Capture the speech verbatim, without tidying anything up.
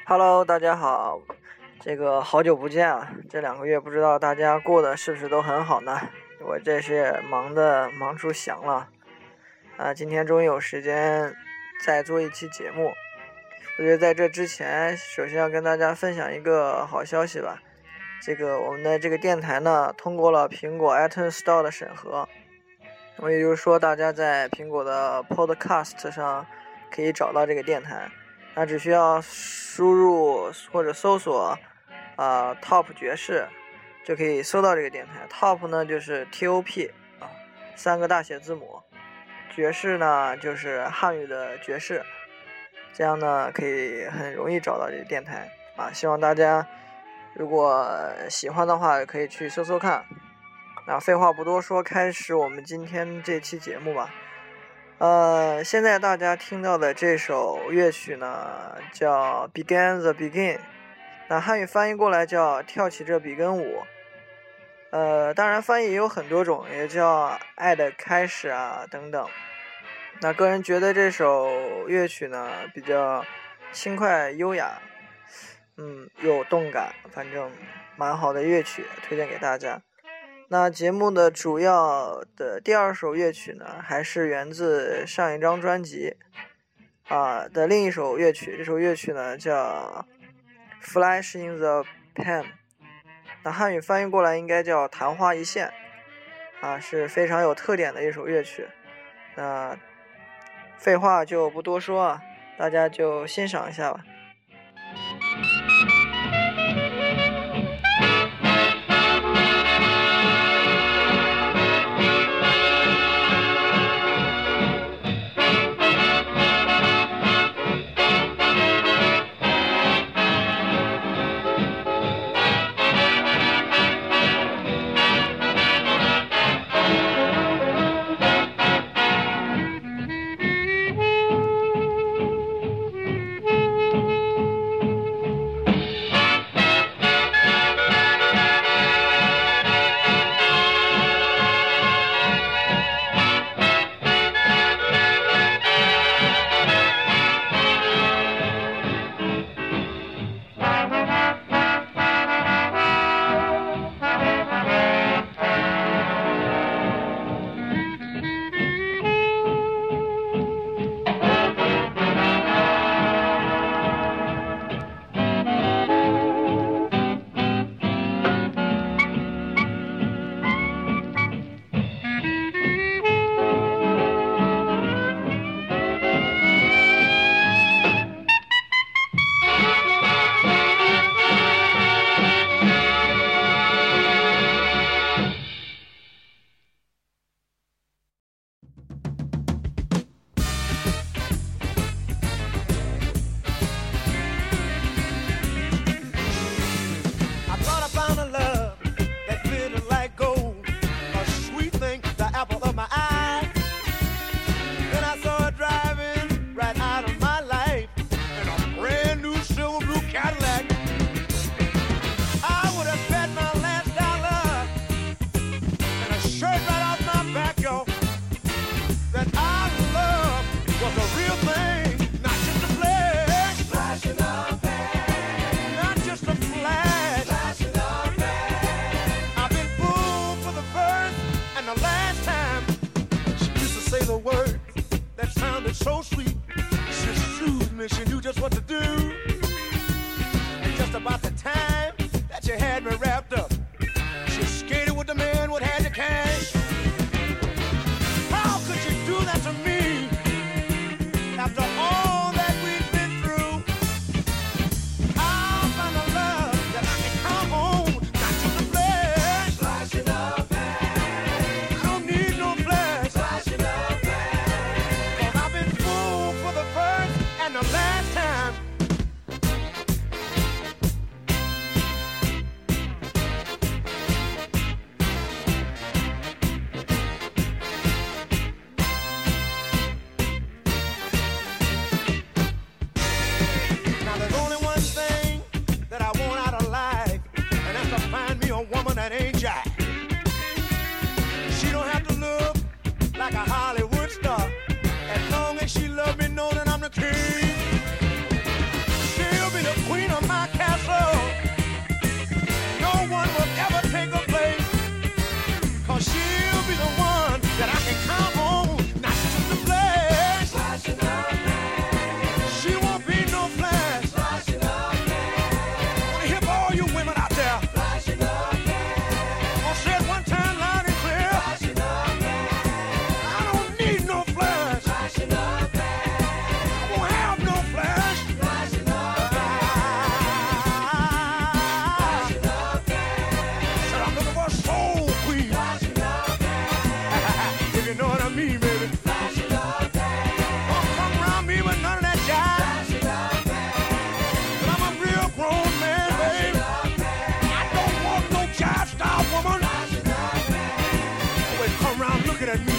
Hello，大家好，这个好久不见啊！这两个月不知道大家过得是不是都很好呢？我这是忙的忙出翔了啊！今天终于有时间再做一期节目。我觉得在这之前，首先要跟大家分享一个好消息吧。这个我们的这个电台呢，通过了苹果 iTunes Store 的审核，我也就是说，大家在苹果的 Podcast 上可以找到这个电台。那只需要输入或者搜索啊、呃、Top 爵士，就可以搜到这个电台。Top 呢就是 T O P 啊，三个大写字母。爵士呢就是汉语的爵士，这样呢可以很容易找到这个电台啊。希望大家如果喜欢的话，可以去搜搜看。那废话不多说，开始我们今天这期节目吧。呃，现在大家听到的这首乐曲呢，叫 Begin the Begin， 那汉语翻译过来叫跳起这比根舞。呃，当然翻译也有很多种，也叫爱的开始啊等等。那个人觉得这首乐曲呢比较轻快优雅，嗯，有动感，反正蛮好的乐曲，推荐给大家。那节目的主要的第二首乐曲呢，还是源自上一张专辑啊的另一首乐曲。这首乐曲呢叫 Flash in the Pan， 那汉语翻译过来应该叫昙花一现啊，是非常有特点的一首乐曲。那废话就不多说啊，大家就欣赏一下吧。 a soul queen. If you know what I mean, baby. Don't come around me with none of that jive. But I'm a real grown man, baby. I don't want no jive star woman. Always come around looking at me.